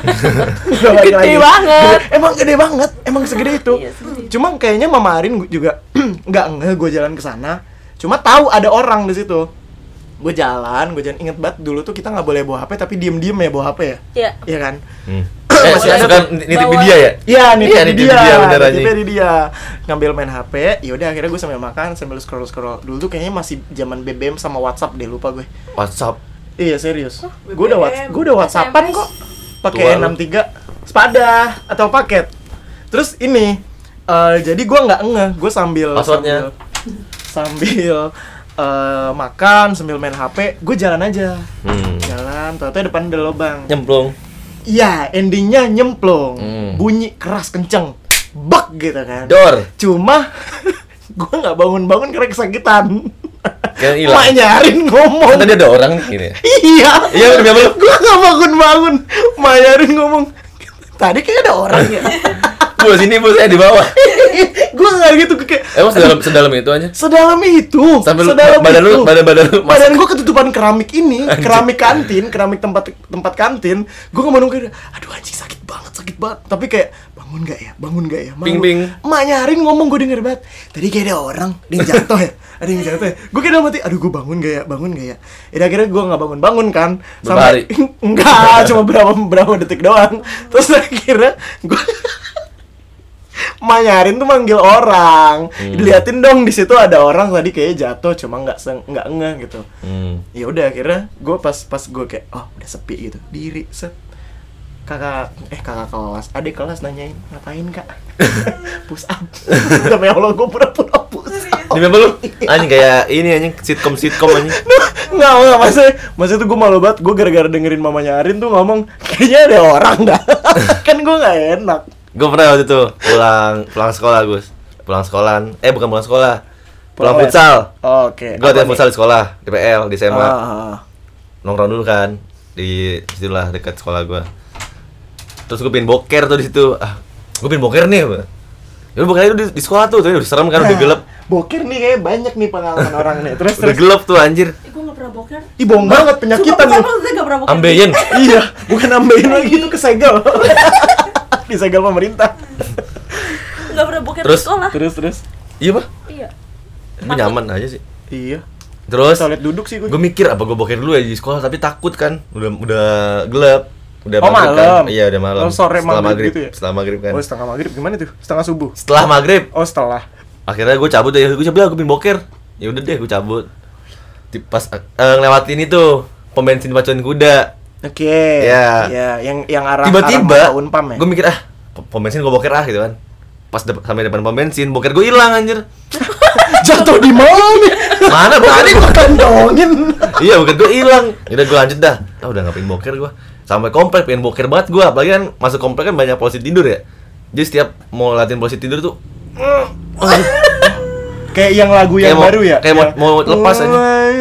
Gede banget. Emang gede banget, emang segede itu. Iya, segede. Cuma kayaknya Mama Arin juga nggak ngeh gue jalan ke sana. Cuma tahu ada orang di situ. Gue jalan, inget banget dulu tuh kita nggak boleh bawa HP tapi diem-diem ya bawa HP ya. Iya. Iya kan? Masih ada kan nitip di dia ya? Iya, nitip di dia bener aja. nitipnya di dia. Ngambil main HP, ya udah akhirnya gue sambil makan sambil scroll. Dulu tuh kayaknya masih zaman BBM sama WhatsApp deh, lupa gue. WhatsApp. Iya, serius. BBM. Gue udah WhatsAppan kok. Pakai Tua lu. 63 sepada atau paket. Terus ini jadi gue nggak ngeh, gue sambil Passwordnya? sambil makan sambil main HP, gue jalan aja. Jalan, ternyata depan ada lubang. Nyemplung. Iya, endingnya nyemplung. Bunyi keras kenceng. Bak gitu kan. Dor. Cuma gue nggak bangun-bangun karena kesakitan. Kayak hilang. Mak nyarin ngomong. Kan tadi ada orang nih gini. Iya. Iya, udah belum. Gue nggak bangun-bangun. Mak nyarin ngomong. Tadi kayak ada orang ya. Bu sini bu, saya di bawah. Gue nggak gitu kayak. Emang sedalam itu aja? Sedalam itu. Sampai lu- sedalam badan itu. lu- badan lu Badan gue ketutupan keramik ini, keramik kantin, keramik tempat kantin. Gue nggak mau kayak, aduh anjing sakit banget. Tapi kayak bangun nggak ya? Malu. Ping, ping. Mak nyarin ngomong, gue denger banget. Tadi kayak ada orang, ada yang jatuh ya. Gue kayak dalam hati, aduh gue bangun gak ya? Ya akhirnya gue nggak bangun kan. Berapa hari? Enggak, cuma berapa detik doang. Terus akhirnya gue Manyarin tuh manggil orang, diliatin dong di situ ada orang tadi kayaknya jatuh, cuma nggak ngeh gitu. Ya udah akhirnya gue pas gue kayak oh udah sepi gitu, diri set kakak kelas, adik kelas nanyain ngapain kak, push up, demi Allah gue pura-pura push up. Demi apa lu? Anjing kayak ini anjing sitcom anjing. Nggak maksudnya tuh gue malu banget, gue gara-gara dengerin mamanya Arin tuh ngomong kayaknya ada orang dah, kan gue nggak enak. Gue pernah waktu itu pulang sekolah Gus, pulang futsal. Oke. Gue ada futsal di sekolah, di PL, di SMA. Nongkrong dulu kan di situlah dekat sekolah gue. Terus gue pengen boker tuh di situ. Gue pengen boker nih. Ya boker itu di sekolah tuh, udah serem kan, udah gelap. Boker nih kayak banyak nih pengalaman orang nih. Udah Terus gelap tuh anjir. Gue gak pernah boker. Ih bohong banget, penyakitan Sumpah, lu. saya gak pernah boker. Ambeien. Iya, bukan ambeien lagi, itu kesegel. Disegel pemerintah. Gak pernah boker Terus? di sekolah. Terus. Iya pak. Iya. Ini nyaman aja sih. Iya. Terus Toilet duduk sih gue. gue mikir apa gue boker dulu ya di sekolah, tapi takut kan. Udah gelap. Udah Oh, maghrib malam. kan. Iya udah malam. Oh, sore Setelah maghrib gitu ya? Setelah maghrib kan. Oh, setengah maghrib gimana tuh? Setengah subuh. Setelah maghrib. Oh, setelah. Akhirnya gue cabut deh, gue pengen boker. Ya udah deh, gue cabut. Pas ngelewatin itu pom bensin pacuan kuda. Oke. Iya. Iya, yang arah Tiba-tiba arah Unpam ya. gue mikir pom bensin gue boker gitu kan. Pas sampai depan pom bensin, boker gue hilang anjir. Jatuh di mana? Mana tadi Gue kantongin. Iya, boker gue hilang. Udah gue lanjut dah. Udah ngapain boker gue. Sampai komplek pengen boker banget gue, apalagi kan masuk komplek kan banyak posisi tidur ya. Jadi setiap mau latihan posisi tidur tuh Kayak yang lagu yang Kayak mau- baru ya. kayak mau lepas aja.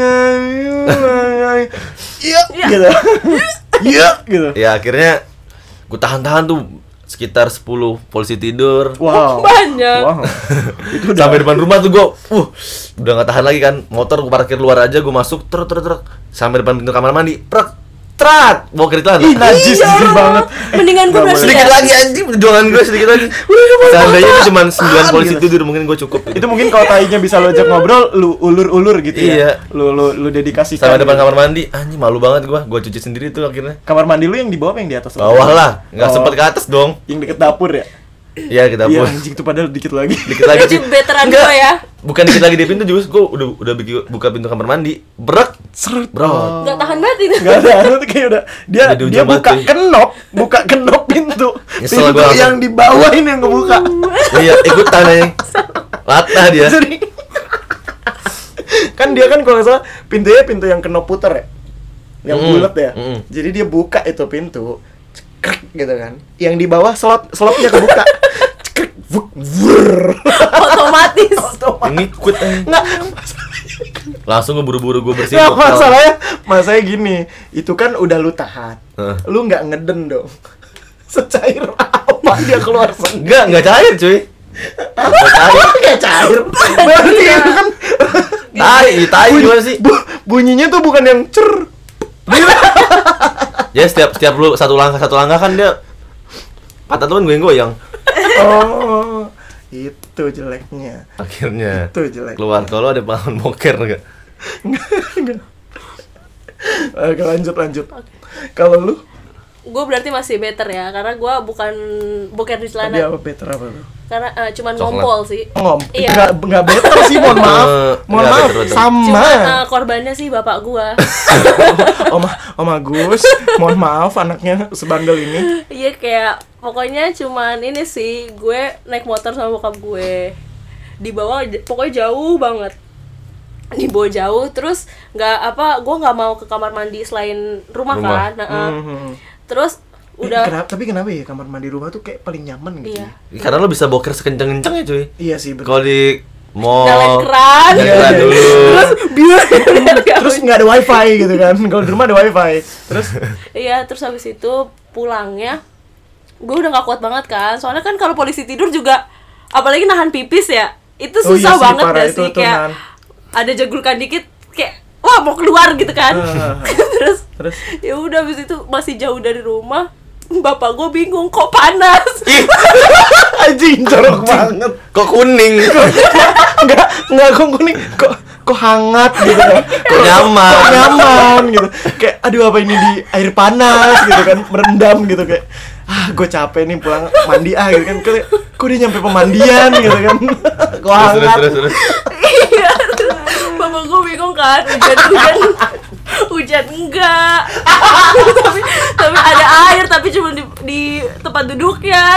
Iya, gitu. Iya, gitu. ya akhirnya gue tahan-tahan tuh sekitar 10 polisi tidur. Wow. Banyak. Wow. Itu udah. Sampai depan rumah tuh gue udah gak tahan lagi kan. Motor gue parkir luar aja, gue masuk truk sampai depan pintu kamar mandi. Trat, boker itu Ih, najis jijik banget. Mendingan gue Nggak berarti sedikit ya. lagi anjing, perjuangan gue sedikit lagi. Seandainya itu cuma 9 polisi tidur mungkin gue cukup gitu. Itu mungkin kalau tainya bisa lo ajak ngobrol, lu ulur-ulur gitu Iya. ya. Lu dedikasikan. Sampai depan gitu. kamar mandi, anjing malu banget gue cuci sendiri tuh akhirnya. Kamar mandi lu yang di bawah apa yang di atas? Bawah lah, nggak Oh. sempet ke atas dong. Yang deket dapur ya? Iya kita Iya, pun. anjing tuh padahal dikit lagi. Dikit lagi Berarti sih. veteran Enggak. gue ya. Bukan dikit lagi di pintu juga, gue udah buka pintu kamar mandi, brek, Seret. bro. Gak tahan banget itu. Enggak ada, itu kayak udah dia Udah di dia ujung buka banget, kenop pintu. Nyesel Pintu gua langsung. yang di bawah ini yang ngebuka. Iya, ikutan aja. Latah dia. Jadi kan dia kan kalau nggak salah pintunya pintu yang kenop puter ya, yang bulat ya. Jadi dia buka itu pintu, cekrek gitu kan. Yang di bawah slotnya kebuka. Cekrek, vuk, vrr. Otomatis. Ngikut aja. Nggak, Langsung gue buru-buru gue bersihin. nggak botol. masalahnya gini, itu kan udah lu tahan, lu nggak ngeden dong. Secair apa dia keluar sendiri? Enggak cair cuy. Nggak cair. Berarti itu kan Tai gimana sih? bunyinya tuh bukan yang cer Ya setiap lu satu langkah kan dia patah tuh kan goyang. Oh, itu jeleknya. Akhirnya Itu jelek. keluar. Kalau ada pengalaman boker enggak? Enggak. Oke, lanjut. Kalau lu? Gue berarti masih better ya, karena gue bukan boker di Tadi celana. apa better apa lu? Karena cuman Coklat. ngompol sih. Iya. Enggak better sih, mohon maaf. Mohon Enggak maaf, better. sama. Cuma korbannya sih bapak gue. Om Agus, mohon maaf anaknya sebandel ini. Iya, kayak pokoknya cuman ini sih, gue naik motor sama bokap gue, dibawa pokoknya jauh banget, dibawa jauh, terus gue nggak mau ke kamar mandi selain rumah. Kan. Terus udah. Kenapa ya kamar mandi rumah tuh kayak paling nyaman gitu? Iya. Ya? Karena lo bisa boker sekenceng-kencengnya cuy. Iya sih, bener. Kalau di mall Nyalain keran. nyalain dulu. Terus biar Terus nggak ada wifi gitu kan? Kalau di rumah ada wifi. Terus iya, terus habis itu pulangnya gue udah nggak kuat banget kan, soalnya kan kalau polisi tidur juga apalagi nahan pipis ya, itu susah sih, banget parah gak itu sih, tuh kayak nahan. ada jagulkan dikit kayak wah mau keluar gitu kan. Terus? Ya udah, habis itu masih jauh dari rumah, bapak gue bingung kok panas. Anjing, jorok banget. Kok kuning? Enggak kok kuning, kok hangat gitu kan. Kok nyaman? Kok nyaman gitu. Kayak aduh apa ini di air panas gitu kan, merendam gitu kayak gue capek nih pulang mandi gitu kan. Kok dia nyampe pemandian gitu kan. Kok hangat. Terus. Iya, bapak gue bingung kan, hujan enggak. tapi ada air, tapi cuma di tempat duduknya.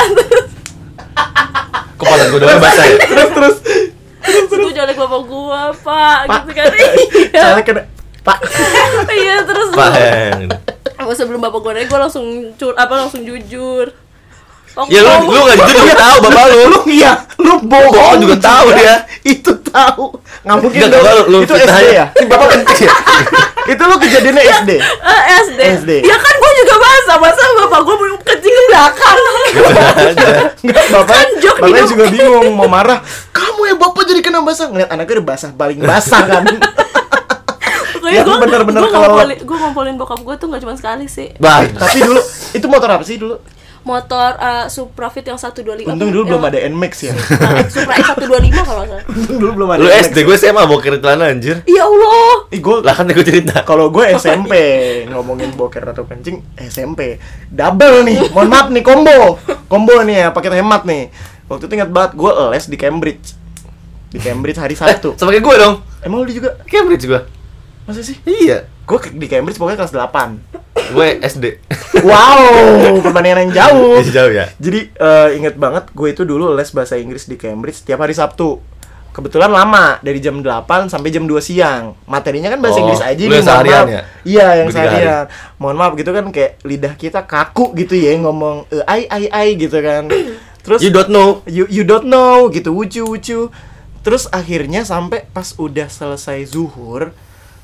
Kok panas gue doang basah ya? Terus Gue jolek bapak gue, pak, gitu kan. Iya. saya kena Pak. Iya, terus Pak yang. sebelum bapak gue naik, gue langsung jujur. Ya lu enggak jujur juga tahu bapak lu. Lu bohong juga tahu dia. Itu tahu. Nggak mungkin Enggak, dong. lu Itu fitnah SD aja. ya? Bapak kencing ya? Itu lu kejadiannya SD. SD. Ya kan gue juga masa bapak gue kencing ke belakang. Enggak, Kan jok bapaknya hidup. juga bingung mau marah. Kamu ya bapak jadi kena basah. Ngeliat anaknya udah basah, paling basah kan. Pokoknya Yang bener-bener gue ngompolin bokap gue tuh gak cuma sekali sih. Baik. Tapi dulu itu motor apa sih dulu? Motor Supra Fit yang 125. Untung dulu belum ada NMAX ya. Supra X125 kalau nggak salah. Untung dulu belum ada Lu NMAX. SD gue SMA boker celana anjir. Ya Allah. Lah kan gue cerita. Kalau gue SMP ngomongin boker atau kencing SMP double nih, mohon maaf nih combo nih ya, paket hemat nih. Waktu itu ingat banget gue les di Cambridge hari Sabtu. Sama kayak gue dong. Emang lu juga? Cambridge gue. Masa sih? Iya. Gue di Cambridge pokoknya kelas 8. Gue SD. Wow, perbandingan yang jauh. Jauh ya. Jadi inget banget gue itu dulu les bahasa Inggris di Cambridge setiap hari Sabtu. Kebetulan lama, dari jam 8 sampai jam 2 siang. Materinya kan bahasa Oh, Inggris aja lu nih, yang seharian maaf. ya? Iya, yang Gue 3 hari. seharian. Mohon maaf gitu kan, kayak lidah kita kaku gitu ya ngomong ai gitu kan. Terus You don't know. you don't know gitu, wucu. Terus akhirnya sampai pas udah selesai zuhur,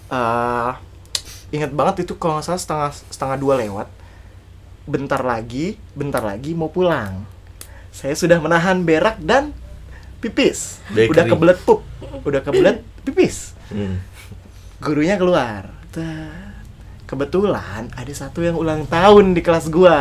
ingat banget itu kalau nggak salah setengah 2 lewat. Bentar lagi mau pulang. Saya sudah menahan berak dan pipis. Bakery. Udah kebelet pipis. Gurunya keluar. Kebetulan ada satu yang ulang tahun di kelas gua.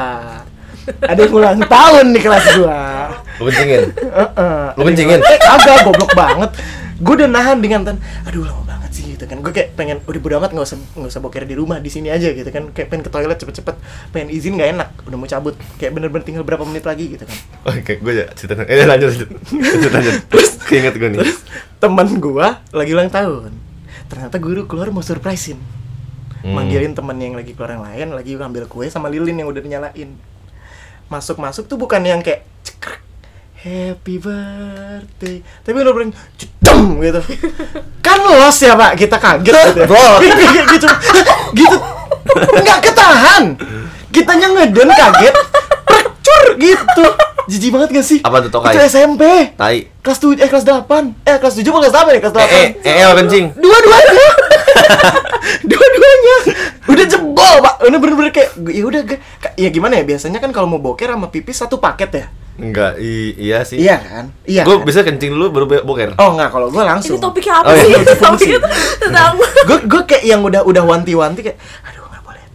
Lu kencingin. Lu Ada kencingin? yang- Agak goblok banget. Gue udah nahan dengan aduh lama banget sih gitu kan. Gue kayak pengen udah bodo amat, nggak usah boker di rumah, di sini aja gitu kan. Kayak pengen ke toilet cepet-cepet, pengen izin nggak enak, udah mau cabut. Kayak bener-bener tinggal berapa menit lagi gitu kan. Oke, gue ya cerita. Lanjut. Terus keinget gue nih. Terus teman gua lagi ulang tahun. Ternyata guru keluar mau surprisein. Manggilin temen yang lagi keluar yang lain, lagi ngambil kue sama lilin yang udah dinyalain. Masuk tuh bukan yang kayak cekrek, happy birthday, tapi bener-bener cedem gitu. Kan los ya pak, kita kaget gitu ya. gitu. Nggak ketahan. Kitanya ngeden kaget, precur gitu. Jijik banget gak sih? Apa tuh, tokai? Itu SMP. Tai. Kelas 7 kelas 8. Kelas 7 apa kelas 8 ya? Kelas 8. Kencing. Dua-duanya. Dua-duanya. Udah jebol, Pak. Ini bener-bener kayak ya udah ya gimana ya? Biasanya kan kalau mau boker sama pipis satu paket ya? Enggak, iya sih. Iya kan? Iya. Gue Kan? bisa kencing dulu baru boker. Oh, enggak, kalau gue langsung. Ini topiknya apa Oh, sih? iya. Topiknya tentang Gue kayak yang udah wanti-wanti kayak aduh nggak boleh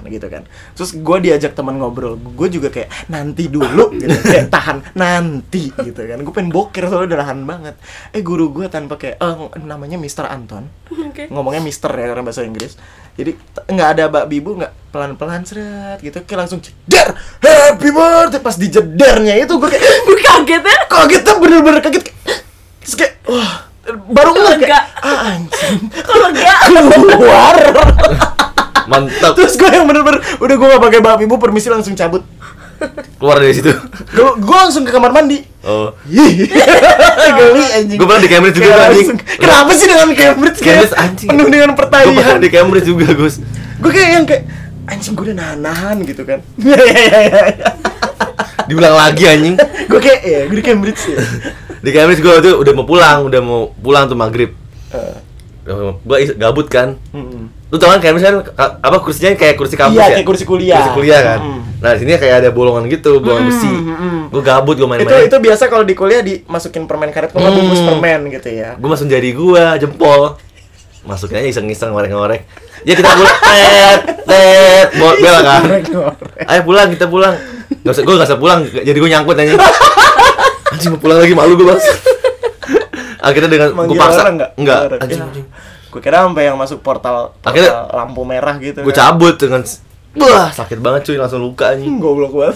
gitu kan. Terus gue diajak teman ngobrol, gue juga kayak nanti dulu gitu, kayak tahan nanti gitu kan. Gue pengen boker soalnya udah nahan banget. Guru gue tanpa kayak namanya Mr. Anton, ngomongnya Mister ya karena bahasa Inggris. Jadi nggak ada babi bu, nggak pelan-pelan seret gitu, kayak langsung jeder happy birthday. Pas dijedernya itu gue kayak kagetnya bener-bener kaget. Terus kayak wah, baru kayak anjing Kalau enggak keluar. Mantap. Terus gue yang bener-bener udah gue gak pakai babi bu, permisi langsung cabut. Keluar dari situ. Gue langsung ke kamar mandi. Oh. Geli anjing. Gue pernah di Cambridge juga Kayak anjing. langsung, kenapa sih dengan Cambridge kayak Cambridge anjing. penuh dengan Gue pernah pertanyaan. di Cambridge juga, Gus. Gue kayak yang kayak anjing, gue udah nahan gitu kan. Diulang lagi anjing. Gue kayak ya gue di Cambridge ya. Di Cambridge gue tuh udah mau pulang tuh maghrib. Gue gabut kan. Lu tau kan Cambridge kan apa kursinya kayak kursi kampus Iya, ya? kayak kursi kuliah. Kursi kuliah kan. Nah, di sini kayak ada bolongan gitu, bolongan besi. Gue gabut, gue main-main. Itu biasa kalau di kuliah dimasukin permen karet, kalau nggak bungkus permen gitu ya. Gue masuk jari gue, jempol. Masukin aja iseng-iseng ngorek-ngorek. Ya kita pulang, bela kan. Ayo pulang, kita pulang. Gue gak usah pulang, jadi gue nyangkut aja. Anjing mau pulang lagi, malu gue bang. Akhirnya dengan gue paksa, enggak. Anjing. Gue kira sampai yang masuk portal Akhirnya lampu merah gitu. gue cabut dengan, wah sakit banget cuy, langsung luka anjing. Goblok banget.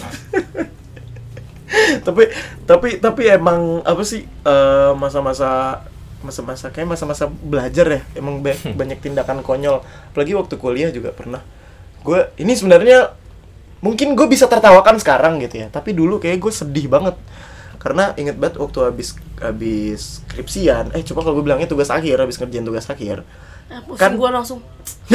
tapi emang apa sih masa-masa kayak masa-masa belajar ya, emang banyak tindakan konyol. Apalagi waktu kuliah juga pernah. Gue ini sebenarnya mungkin gue bisa tertawakan sekarang gitu ya, tapi dulu kayak gue sedih banget. Karena inget banget waktu habis skripsian, coba kalau gue bilangnya tugas akhir, habis ngerjain tugas akhir. Kan gue langsung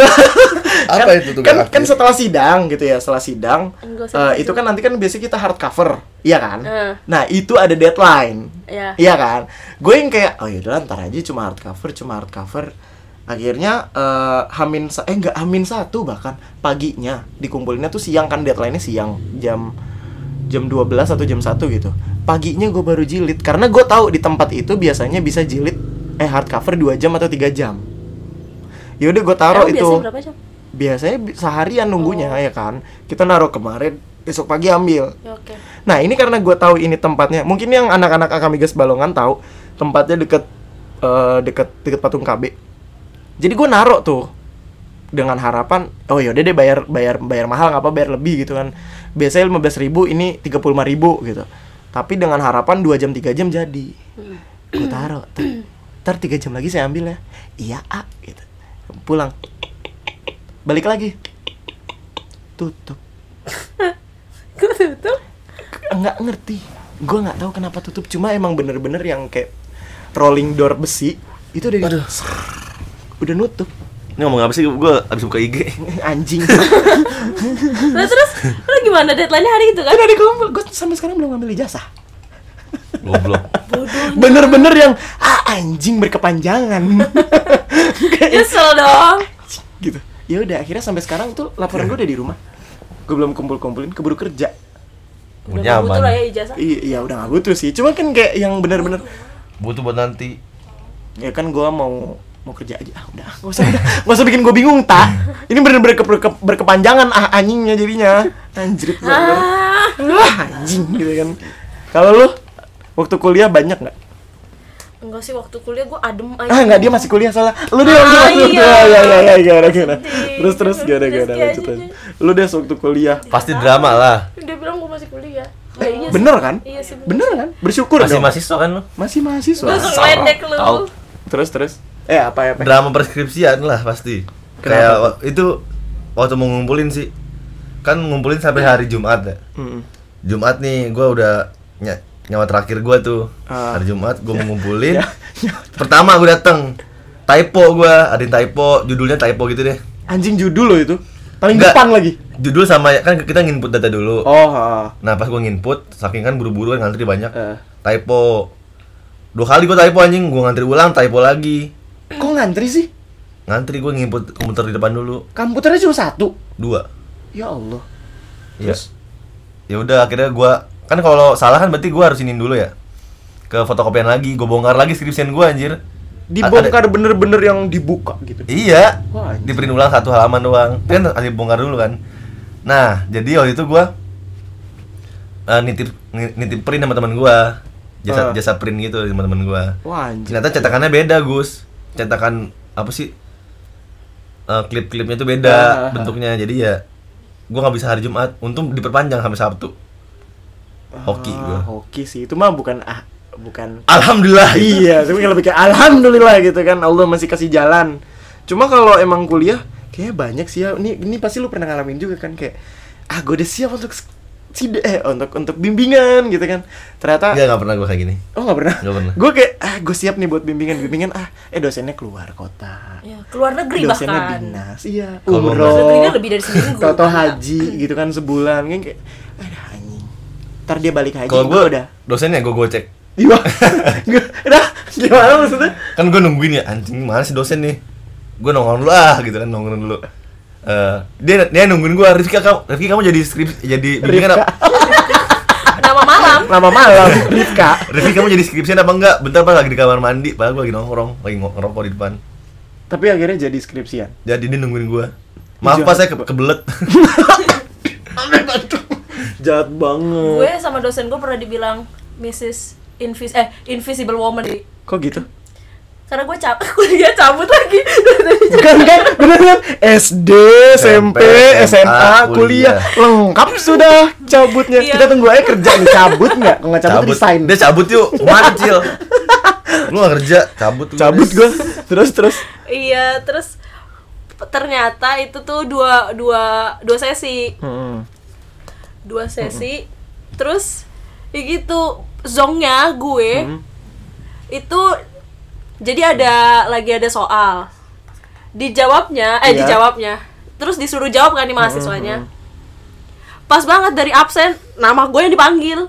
Apa itu tugas kan setelah sidang gitu ya, setelah sidang itu kan nanti kan biasanya kita hard cover, iya kan? Nah itu ada deadline, iya kan? Gue yang kayak yaudah ntar aja, cuma hard cover. Akhirnya hamin satu bahkan paginya dikumpulnya tuh siang kan, deadline-nya siang jam 12 atau jam 1 gitu. Paginya gue baru jilid karena gue tahu di tempat itu biasanya bisa jilid hard cover 2 jam atau 3 jam. Yaudah gue taruh itu. Biasanya berapa jam? Biasanya seharian nunggunya ya kan. Kita naruh kemarin, besok pagi ambil. Ya, okay. Nah ini karena gue tahu ini tempatnya. Mungkin yang anak-anak Akamigas Balongan tahu tempatnya deket patung KB. Jadi gue naruh tuh dengan harapan, yaudah deh bayar mahal, nggak apa bayar lebih gitu kan. Biasanya 15.000, ini 35.000 gitu. Tapi dengan harapan 2 jam 3 jam jadi. Gue taruh. Ntar 3 jam lagi saya ambil ya. Iya gitu. Pulang. Balik lagi. Tutup. Kok tutup? Nggak ngerti. Gue nggak tahu kenapa tutup. Cuma emang bener-bener yang kayak rolling door besi itu udah nutup. Ini ngomong apa sih? Gue abis buka IG. Anjing. Nah, terus lu gimana, deadline-nya hari itu kan? Kan ada kumpul. Gue sampai sekarang belum ngambil ijazah. Goblok. Bener-bener yang anjing berkepanjangan. Nyesel dong. Gitu. Ya udah akhirnya sampai sekarang tuh laporan gue udah di rumah. Gue belum kumpulin, keburu kerja. Udah gak butuh lah ya ijazah. Iya udah gak butuh sih. Cuma kan kayak yang bener-bener Butuh buat nanti. ya kan gue mau kerja aja. Udah nggak usah bikin gue bingung tak. Ini bener-bener berkepanjangan anjingnya jadinya. Anjrit banget. Anjing gitu kan. Kalau lu waktu kuliah banyak nggak? Enggak sih, waktu kuliah gue adem aja. Nggak, dia masih kuliah salah. Lu dia iya. gimana. Terus gimana lanjut. Lu deh waktu kuliah. Pasti drama lah. Dia bilang gue masih kuliah. Iya Bener kan? Iya sih. Bener kan? Bersyukur Masih dong. mahasiswa kan lu? Masih mahasiswa. Langsung ledek lu. Tahu. Terus. Apa? Drama perskripsian lah pasti. Kenapa? Kayak itu waktu mau ngumpulin sih. Kan ngumpulin sampai hari Jumat ya. Jumat nih gue udah nyawa terakhir gue tuh. Hari Jumat gue mau ngumpulin. Pertama gue dateng, typo gue, ada yang typo, judulnya typo gitu deh. Anjing judul lo itu. Paling Enggak. depan lagi. Judul sama, kan kita nginput data dulu. Nah pas gue nginput, saking kan buru-buru kan ngantri banyak. Typo 2 kali gue typo anjing, gue ngantri ulang, typo lagi. Kok ngantri sih? Ngantri gue nginput komputer di depan dulu. Komputernya cuma 1. 2. Ya Allah. Iya. Ya udah akhirnya gue, kan kalau salah kan berarti gue harus inin dulu ya. Ke fotokopian lagi, gue bongkar lagi skripsian gue anjir. Dibongkar bener-bener yang dibuka gitu. Iya. Wah, anjir. Di print ulang 1 halaman doang. Kan harus dibongkar dulu kan. Nah, jadi waktu itu gue nitip print sama teman gue, jasa print gitu sama teman gue. Wah, anjir. Ternyata cetakannya beda, Gus. Cetakan apa sih? Klip-klipnya tuh beda bentuknya. Jadi ya gue nggak bisa hari Jumat. Untung diperpanjang sampai Sabtu. Hoki gue. Hoki sih itu mah bukan. Alhamdulillah. Iya, tapi lebih kayak alhamdulillah gitu kan, Allah masih kasih jalan. Cuma kalau emang kuliah kayaknya banyak sih ya. Ini pasti lu pernah ngalamin juga kan, kayak gue udah siap untuk untuk bimbingan gitu kan. Ternyata Enggak pernah gue kayak gini. Oh, enggak pernah. Enggak pernah. Gue kayak gue siap nih buat bimbingan dosennya keluar kota. Ya, keluar negeri Dosennya bahkan. dinas. Iya, Kalau Luar negerinya umroh. lebih dari seminggu. Toto haji gitu kan sebulan kan kayak anjing. Ntar dia balik haji. Kalau gue udah. dosennya gue gocek. Iya. Udah, gimana maksudnya? Kan gue nungguin ya, anjing mana sih dosen nih. Gue nongkrong dulu gitu kan, nongkrong dulu. Dia nungguin gue, Rifki kamu jadi bimbingan apa? Nama malam Rifka. Rifki kamu jadi skripsian apa enggak? Bentar Pak, lagi di kamar mandi, padahal gue lagi ngerokok di depan. Tapi akhirnya jadi skripsian. Jadi dia nungguin gue. Maaf Pak, saya kebelet. Jahat banget. Gue sama dosen gue pernah dibilang Mrs. Invisible Woman. Kok gitu? Karena gue kuliah cabut lagi. Bukan kan? Bener kan? SD, SMP, SMA, kuliah lengkap sudah cabutnya. Iya. Kita tunggu aja kerja nih, cabut nggak? Kalau nggak cabut resign. Dia cabut yuk, mancil. Lu gak kerja, cabut gue. Terus. Iya, terus ternyata itu tuh dua sesi. Dua sesi. Terus ya gitu, zongnya gue itu jadi lagi ada soal. Dijawabnya. Terus disuruh jawab kan nih mahasiswanya. Pas banget dari absen, nama gue yang dipanggil.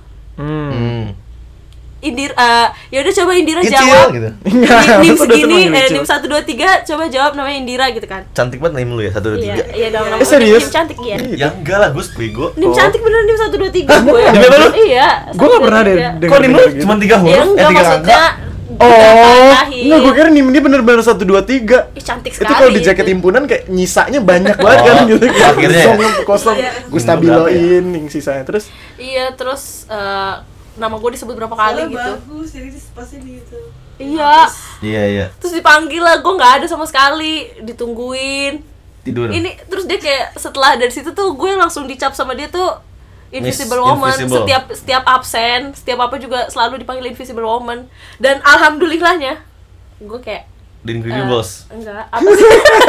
Ya udah coba Indira Kecil, jawab. gitu. Nim segini, nim 1 2 3 coba jawab namanya Indira gitu kan. Cantik banget nim lu ya, 1 2 3. Iya dong, nama serius? Nim cantik ya. Ya enggak lah, Gus, bego. Nim cantik bener, nim 1 2 3 gue. Nim apa lu? Iya. Gue nggak pernah deh. Kok nim lu cuma 3 huruf? Ya enggak 3 maksudnya. Enggak, gue kira nim ini bener-bener 1 2 3. Ih, cantik Itu sekali. kalau di jaket himpunan kayak nyisanya banyak banget kan gitu. Akhirnya ya? Kosong. Iya. Gue stabiloin yang sisanya terus. Iya, terus nama gue disebut berapa kali gitu. Bagus, jadi pasti gitu. Iya. Iya. Terus dipanggil lah, gue nggak ada sama sekali, ditungguin. Tidur. Ini terus dia kayak setelah dari situ tuh gue langsung dicap sama dia tuh Invisible Woman. Invisible. Setiap absen, setiap apa juga selalu dipanggil Invisible Woman. Dan alhamdulillahnya gue kayak The Incredibles. enggak, apa sih?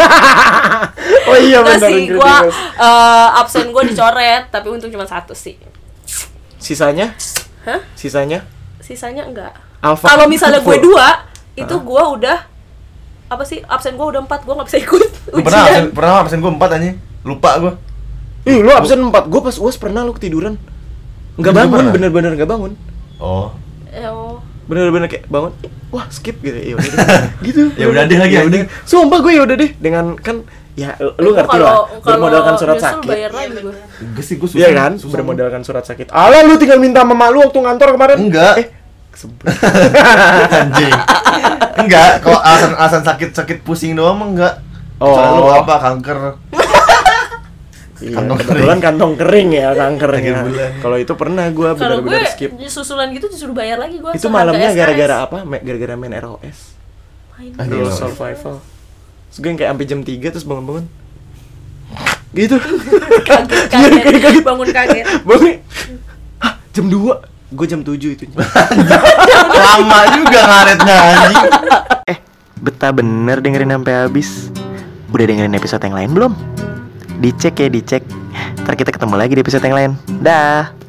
Oh iya Enggak benar. sih, gue absen gue dicoret, tapi untung cuma 1 sih. Sisanya? Hah? Sisanya? Sisanya enggak. Alpha. Kalau misalnya gue 2, itu gue udah apa sih? Absen gue udah 4, gue nggak bisa ikut ujian. Pernah absen gue 4 anjing. Lupa gue. Ih, lu absen 4. Gue pas UAS pernah lu ketiduran. Enggak Lu bangun, pernah? bener-bener enggak bangun. Oh. Oh. Bener-bener kayak bangun. Wah, skip gitu. Ya udah deh. Gitu. Ya udah deh lagi, Ya ya udah. Sumpah gue ya udah deh dengan kan ya lu ngerti lah. Bermodalkan surat nyusul sakit. bayar lagi gue. Enggak sih, gue susah. Iya kan? susah. Bermodalkan surat sakit. Alah lu tinggal minta sama mak lu waktu ngantor kemarin. Enggak. Kesebut. Anjing. Enggak, kalau alasan sakit pusing doang mah enggak. Oh. Soalnya lu apa kanker. Iya, Kantong kebetulan kantong kering ya kankernya. Akhir bulan. Kalau itu pernah gue Kalau gue benar-benar skip. susulan gitu disuruh bayar lagi gue. Itu malamnya gara-gara apa? Gara-gara main ROS. Aduh. Real Survival. Terus gue yang kayak sampai jam 3 terus bangun-bangun. Gitu. kaget bangun kaget. Bangun. Hah, jam 2. Gue jam 7 itu. Lama juga ngaretnya anjing. Betah bener dengerin sampai habis. Udah dengerin episode yang lain belum? Dicek ya, dicek. Ntar kita ketemu lagi di episode yang lain. Dah.